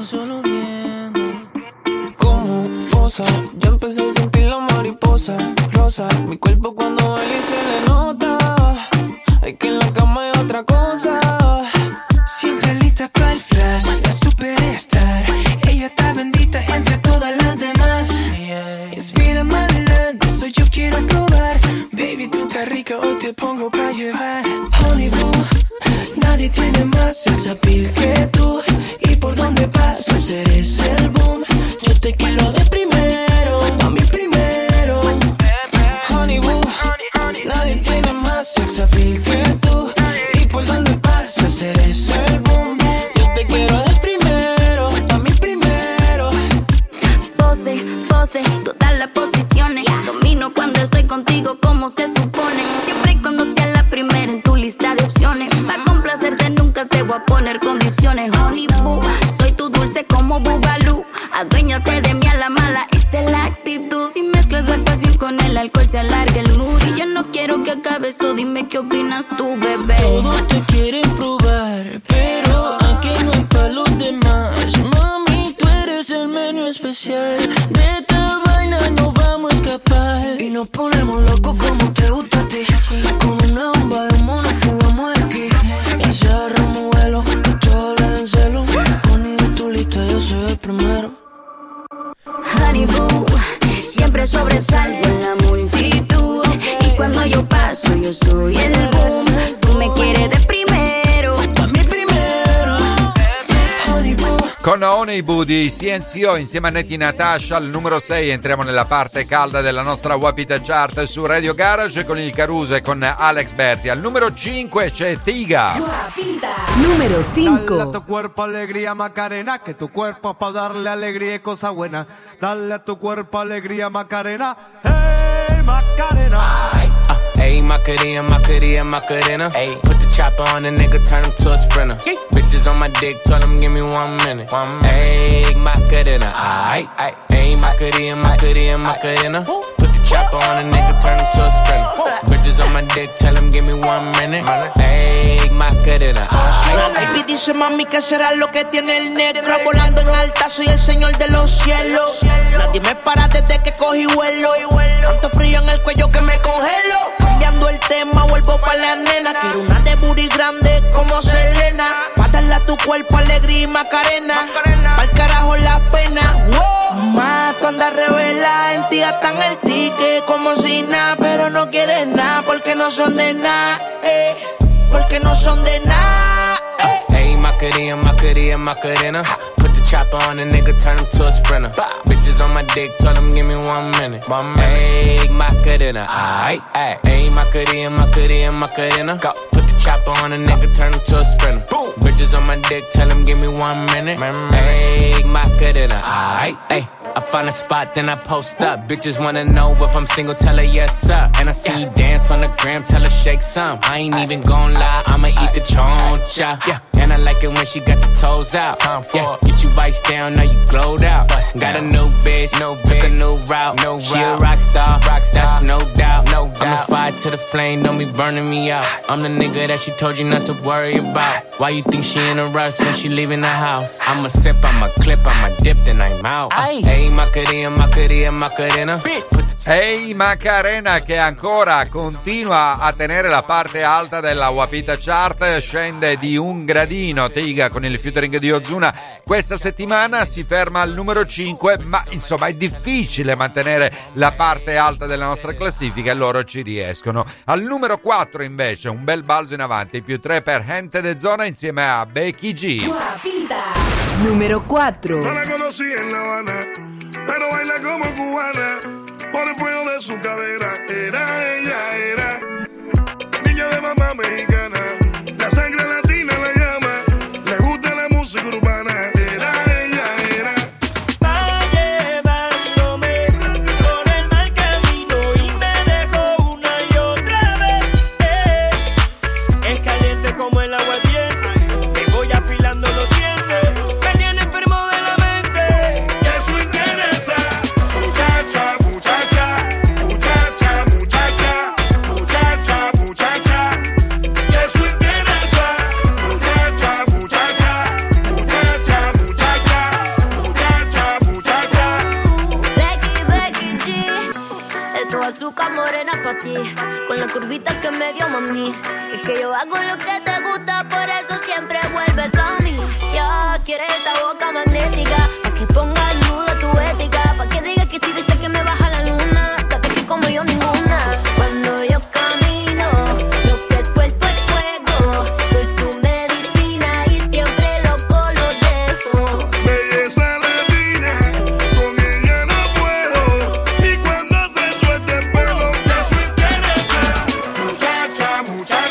[SPEAKER 18] como posa. Ya empecé a sentir la mariposa rosa, mi cuerpo cuando baila y se le nota. Hay que en la cama hay otra cosa. Siempre lista para el flash, la superstar. Ella está bendita entre todas las demás. Inspira manera, de eso yo quiero probar. Baby, tú estás rica, hoy te pongo pa' llevar. Honey boo, nadie tiene más sex appeal que tú. Y por donde pasas eres el boom. Yo te quiero de primero, a mí primero. Honey boo, nadie tiene más sex appeal que tú. Y por donde pasas eres el boom. Yo te quiero de primero, a mí primero.
[SPEAKER 9] Pose, pose, todas las posiciones. Domino cuando estoy contigo como se supone. Siempre y cuando sea la primera en tu lista de opciones. Pa' complacerte nunca te voy a poner condiciones. Honey boo, soy tu dulce como Bugalú. Aduéñate de mí a la mala, esa es la actitud. Si mezclas la pasión con el alcohol se alarga el mood. Y yo no quiero que acabe eso, dime qué opinas tú, bebé.
[SPEAKER 18] Todos te quieren probar, pero aquí no hay pa' los demás. Mami, tú eres el menú especial. De esta vaina no vamos a escapar. Y nos ponemos locos como te gusta a ti. Con una bomba de mono fugamos aquí. Y cerramos vuelo, todo le den celo. Honey, de tu lista yo soy el primero.
[SPEAKER 9] Honey boo, siempre sobresalgo en la multitud. Y cuando yo paso yo soy el boom. Tú me quieres de primero,
[SPEAKER 18] a mí primero. Honey boo.
[SPEAKER 3] Con Honey Boo di CNCO insieme a Netti Natasha al numero 6 entriamo nella parte calda della nostra Guapita Chart su Radio Garage con il Caruso e con Alex Berti. Al numero 5 c'è Tiga.
[SPEAKER 2] Guapita.
[SPEAKER 10] Número 5.
[SPEAKER 19] Dale a tu cuerpo alegría Macarena, que tu cuerpo pa' darle alegría y cosa buena. Dale a tu cuerpo alegría Macarena, hey Macarena.
[SPEAKER 20] Ayy, Macarena, Macarena, Macarena. Ayy, put the chopper on the nigga, turn him to a sprinter. Bitches on my dick, tell him give me 1 minute. Ayy, Macarena, aight, aight. Ayy, Macarena, Macarena, Macarena. Put the chopper on the nigga, turn him to a sprinter. Bitches on my dick, tell him give me 1 minute. Ayy, Macarena, aight.
[SPEAKER 21] Baby dice mami que será lo que tiene el negro. Volando en alta, soy el señor de los cielos. Nadie me para desde que cogí vuelo. Tanto frío en el cuello que me congelo. Cambiando el tema, vuelvo pa' la nena. Quiero una de booty grande como Selena. Pa' darle a tu cuerpo alegría y Macarena. Pa'l carajo la pena. Wow. Mamá, tú andas revela. En ti gastan el ticket como si nada. Pero no quieres nada porque no son de nada. porque no son de nada.
[SPEAKER 20] Ayy, Macarena, Macarena, Macarena. Put the chopper on the nigga, turn him to a sprinter. Bitches on my dick, tell him give me 1 minute. Ayy, Macarena, aight, ayy. Ayy, Macarena, Macarena, Macarena. Put the chopper on the nigga, turn him to a sprinter. Bitches on my dick, tell him give me 1 minute. Ayy, Macarena, aight, ayy. I find a spot, then I post up. Bitches wanna know if I'm single, tell her yes, sir. And I see you dance on the gram, tell her shake some. I ain't even gon' lie, I'ma eat the choncha. Yeah, and I like it when she got the toes out. Yeah, get you vice down, now you glowed out. Got a new bitch, took a new route. She a rock star, that's no doubt. I'm the fire to the flame, don't be burning me out. I'm the nigga that she told you not to worry about. Why you think she in a rush when she leaving the house? I'ma sip, I'ma clip, I'ma dip, then I'm out. Hey, Macarena, Macarena, Macarena.
[SPEAKER 3] Hey Macarena, che ancora continua a tenere la parte alta della Wapita Chart, scende di un gradino Tiga con il featuring di Ozuna. Questa settimana si ferma al numero 5, ma insomma è difficile mantenere la parte alta della nostra classifica e loro ci riescono. Al numero 4 invece un bel balzo in avanti, più 3 per Gente de Zona insieme a Becky G.
[SPEAKER 2] Wapita número 4.
[SPEAKER 4] No la conocí en La Habana, pero baila como cubana. Por el fuego de su cadera, era niña de mamá mexicana, la sangre latina la llama, le gusta la música urbana, era.
[SPEAKER 10] Va llevándome por el mal camino y me dejó una y otra vez. Es caliente como el agua hirviente, te voy afilando los dientes, me tiene enfermo de la mente, y eso interesa.
[SPEAKER 4] Muchacha, y eso interesa.
[SPEAKER 9] Becky G, esto es azúcar morena pa' ti, con la curvita que me dio mami. Es que yo hago lo que te gusta, por eso siempre vuelves a mí. Ya quieres esta boca magnética, pa' que ponga en duda tu ética, pa' que digas que si dices que me baja la luna, sabes que como yo ninguna. Cuando yo camino, lo que suelto es fuego, soy su medicina y siempre loco lo dejo.
[SPEAKER 4] Belleza latina, con ella no puedo, y cuando se suelta el pelo, eso interesa. Muchacha,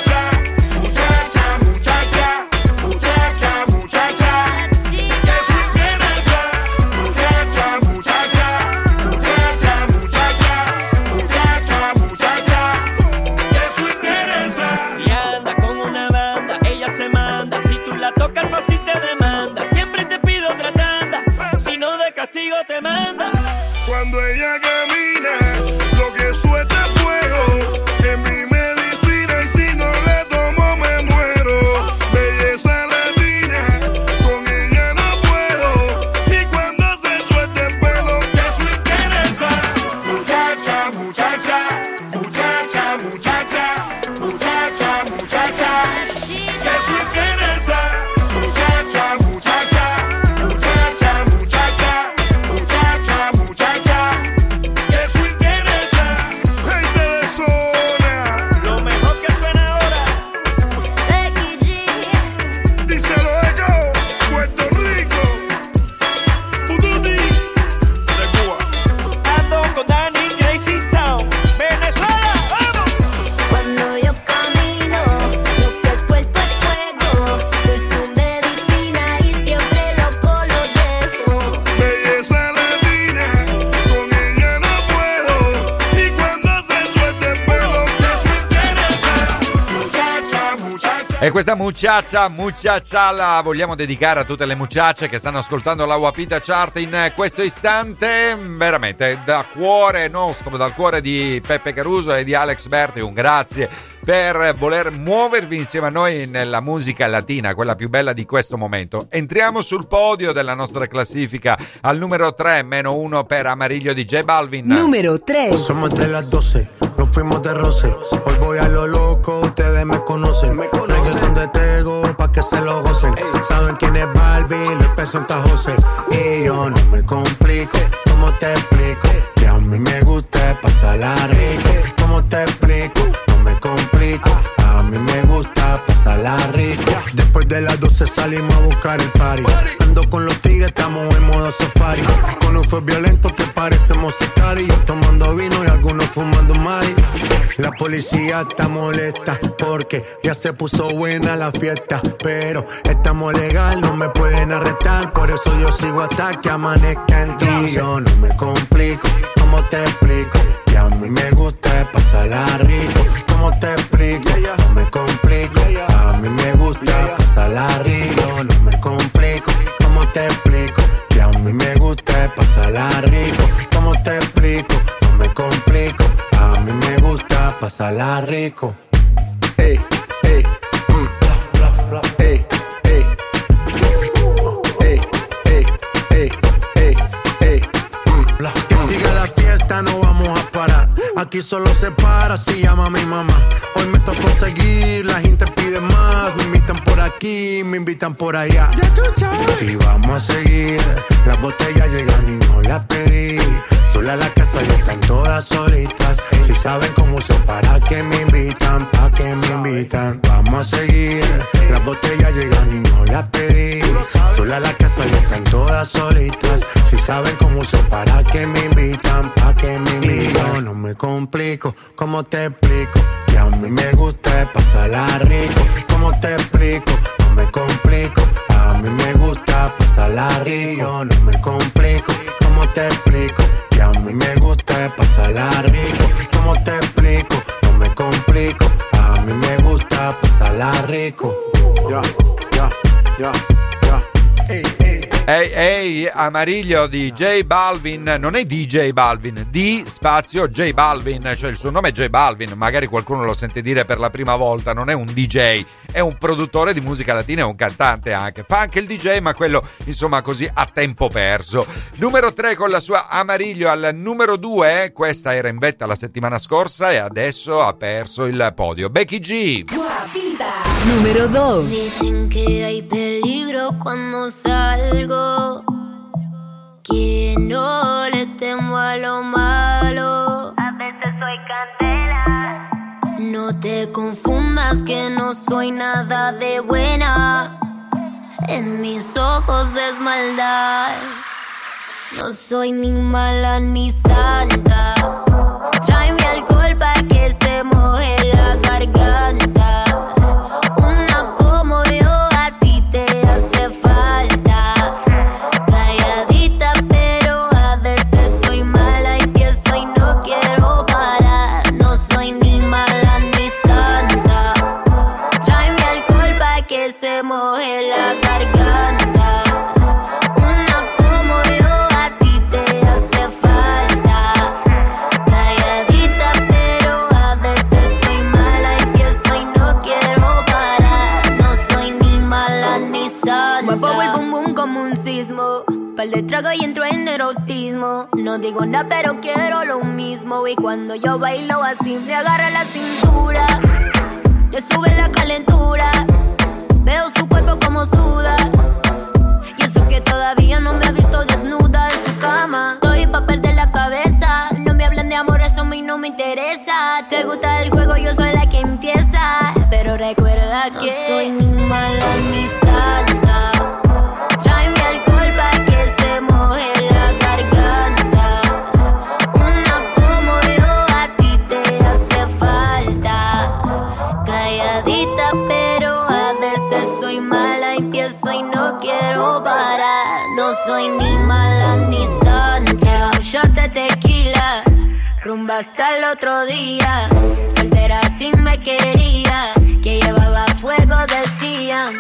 [SPEAKER 3] E questa muchacha la vogliamo dedicare a tutte le muchache che stanno ascoltando la Wapita Chart in questo istante, veramente da cuore nostro, dal cuore di Peppe Caruso e di Alex Berti, un grazie per voler muovervi insieme a noi nella musica latina, quella più bella di questo momento. Entriamo sul podio della nostra classifica al numero 3, -1 per Amarillo di J Balvin.
[SPEAKER 2] Numero 3.
[SPEAKER 11] Somos de las 12, nos fuimos de roce. Hoy voy a lo loco, ustedes me conocen. Reggaeton de Tego, pa' que se lo gocen. Saben quién es Barbie, les presenta José. Y yo no me complico, ¿cómo te explico? Que a mí me gusta pasarla rico. ¿Cómo te explico? No me complico, a mí me gusta pasarla pasarla rico. Después de las 12 salimos a buscar el party. Ando con los tigres, estamos en modo safari. Con un fue violento que parecemos sicari. Tomando vino y algunos fumando mari. La policía está molesta porque ya se puso buena la fiesta. Pero estamos legal, no me pueden arrestar. Por eso yo sigo hasta que amanezca en ti. Yo no me complico, ¿cómo te explico? Que a mí me gusta pasarla rico. ¿Cómo te explico? No me complico, a mí me gusta pasarla rico. No me complico, ¿cómo te explico? Que a mí me gusta pasarla rico. ¿Cómo te explico? No me complico, a mí me gusta pasarla rico. Ey, ey, ey, ey, ey, ey, ey, ey, ey. Que siga la fiesta, no vamos a parar. Aquí solo se para si llama a mi mamá. Hoy me tocó seguir, la gente pide más. Me invitan por aquí, me invitan por allá. Y vamos a seguir, las botellas llegan y no las pedí. Sola la casa ya están todas solitas. Si saben cómo uso, para que me invitan, pa' que me invitan. Vamos a seguir, las botellas llegan y no las pedí. Sola la casa ya están todas solitas. Si saben cómo uso, para que me invitan, pa' que me invitan. Yo no me complico, ¿cómo te explico? Que a mí me gusta pasarla rico. ¿Cómo te explico? No me complico, a mí me gusta pasarla rico. Yo no me complico, ¿cómo te explico? Que a mí me gusta pasarla rico. ¿Cómo te explico? No me complico, a mí me gusta pasarla rico. Ya, ya, ya, ya. Ey, ey.
[SPEAKER 3] Ehi, ehi, Amarillo di J Balvin, non è DJ Balvin, di spazio J Balvin, cioè il suo nome è J Balvin, magari qualcuno lo sente dire per la prima volta, non è un DJ, è un produttore di musica latina e un cantante anche, fa anche il DJ ma quello insomma così a tempo perso. Numero 3 con la sua Amarillo. Al numero 2, questa era in vetta la settimana scorsa e adesso ha perso il podio. Becky G.
[SPEAKER 2] Guapita. Numero 2.
[SPEAKER 9] Dicen que hay peligro cuando salgo, que no le temo a lo malo. A veces soy candela. No te confundas que no soy nada de buena. En mis ojos ves maldad. No soy ni mala ni santa. Tráeme alcohol pa' que se moje la garganta. Una como yo a ti te hace falta. Calladita pero a veces soy mala y pienso y no quiero parar. No soy ni mala ni santa. Tráeme alcohol pa' que se moje la garganta. Una como yo a ti te hace falta. Calladita pero a veces soy mala y pienso y no quiero parar. No soy ni mala ni santa. Muevo el bum bum como un sismo. Par de trago y entro en erotismo. No digo nada pero quiero lo mismo. Y cuando yo bailo así me agarra la cintura. Le sube la calentura. Veo su cuerpo como suda. Y eso que todavía no me ha visto desnuda en su cama. Estoy pa' perder la cabeza. No me hablen de amor, eso a mí no me interesa. Te gusta el juego, yo soy la que empieza. Pero recuerda que no soy ni mala ni santa. Tráeme alcohol pa' que se moje la garganta. Una como yo a ti te hace falta. Calladita pero a veces soy mala y pienso y no quiero parar. No soy ni mala ni santa. Un shot de tequila, rumba hasta el otro día. Soltera si me quería, que llevaba fuego decían.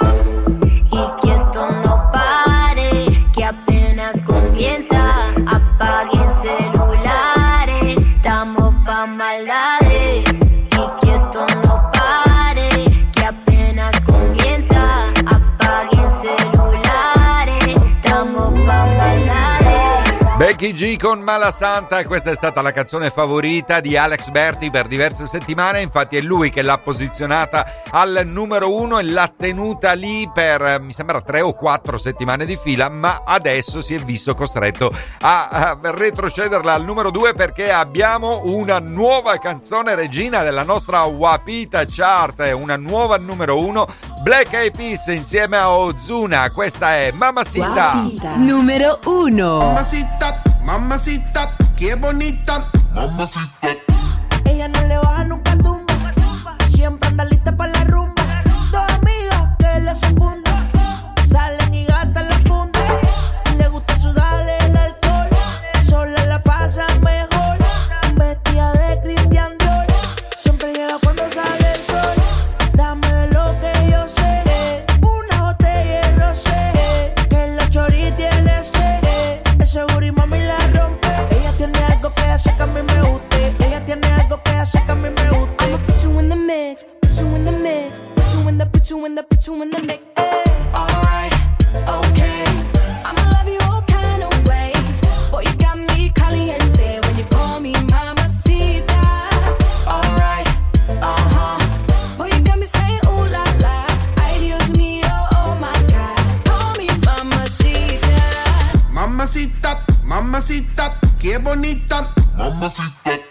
[SPEAKER 9] Y quieto no pare, que apenas comienza. Apaguen celulares, estamos pa' maldades. Y quieto no pare, que apenas comienza. Apaguen celulares, estamos pa' maldades.
[SPEAKER 3] Becky G con Mala Santa, e questa è stata la canzone favorita di Alex Berti per diverse settimane, infatti è lui che l'ha posizionata al numero 1 e l'ha tenuta lì per mi sembra 3 o 4 settimane di fila, ma adesso si è visto costretto a retrocederla al numero 2 perché abbiamo una nuova canzone regina della nostra Guapita Chart, una nuova numero 1, Black Eyed Peas insieme a Ozuna, questa è Mamacita.
[SPEAKER 2] Numero 1.
[SPEAKER 4] Mamacita, mamacita, qué bonita. Mamacita.
[SPEAKER 21] Ella no le baja nunca tumba, siempre anda lista para la rumba. Dos amigas que le secundan, salen y gastan la funda. Le gusta sudarle el alcohol, sola la pasa mejor. Vestida de Christian Dior, siempre llega cuando sale el sol. Dame de lo que yo sé, una botella de rosé, que la chori tiene sed. Ese booty mami la rompe. Ella tiene algo que hace que a mí me guste. Ella tiene algo que hace que a mí me guste.
[SPEAKER 8] I'ma put you in the mix, put you in the mix, put you in the, put you in the, put you in the mix. Alright, okay. I'ma love you all kind of ways. Boy, you got me caliente when you call me mamacita. Alright, boy, you got me saying ooh la la. Ay, Dios mío, oh my God. Call me mamacita.
[SPEAKER 4] Mamacita, mamacita, qué bonita. Mamacita.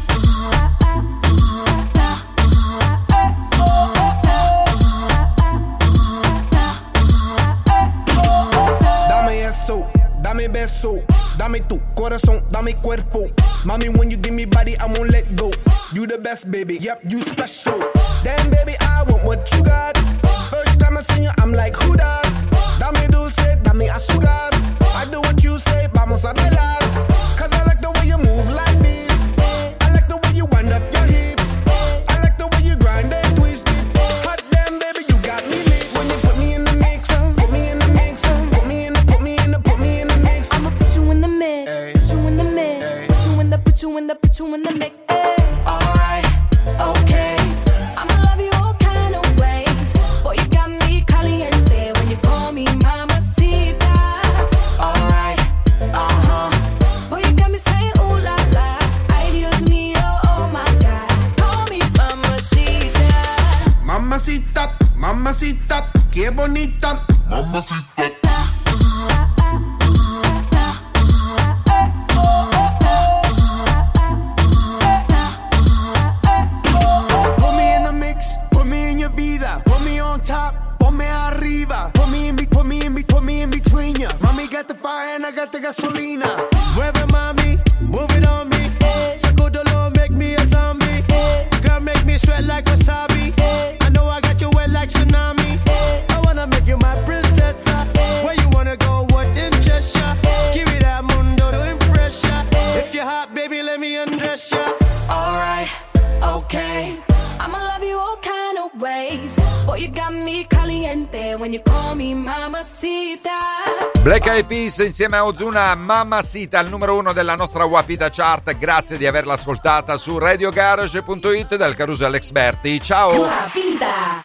[SPEAKER 4] Dame eso, dame beso, dame tu corazón, dame cuerpo. Mami, when you give me body, I won't let go. You the best, baby, yep, you special. Damn, baby, I want what you got. First time I see you, I'm like, who that? Dame dulce, dame azúcar. I do what you say, vamos a bailar. Cause I like the way you move like this. I like the way you wind up your hips. I like the way you grind and twist it. Hot damn, baby, you got me lit. When you put me in the mix, put me in the mix, put me in the, put me in the, put me in the mix.
[SPEAKER 8] I'ma put you in the mix, put you in the mix, put you in the, put you in the, put you in the mix. Alright, okay. I'ma love you all kind of ways. Boy, you got me caliente when you call me mamacita. Alright, boy, you got me saying ooh la la. Ay, Dios mío, oh my God. Call me mamacita.
[SPEAKER 4] Mamacita, mamacita, qué bonita. Mamacita. Put me in the mix, put me in your vida. Put me on top, ponme arriba. Put me in between ya. Mami got the fire and I got the gasolina. Mueve mami, move it on me. Sacudolo, make me a zombie. Girl, make me sweat like wasabi. I know I got you wet like tsunami. I wanna make you my princess. Where you wanna go, what interest ya? Give me that mundo to impress ya. If you're hot, baby, let me undress ya.
[SPEAKER 8] Alright, okay. I'ma love you all kind of ways. Boy, you got me caliente when you call me mamacita.
[SPEAKER 3] Black Eyed Peas insieme a Ozuna, Mamacita, il numero 1 della nostra Wapita Chart. Grazie di averla ascoltata su radiogarage.it dal Caruso Alex Berti. Ciao!
[SPEAKER 2] Wapita.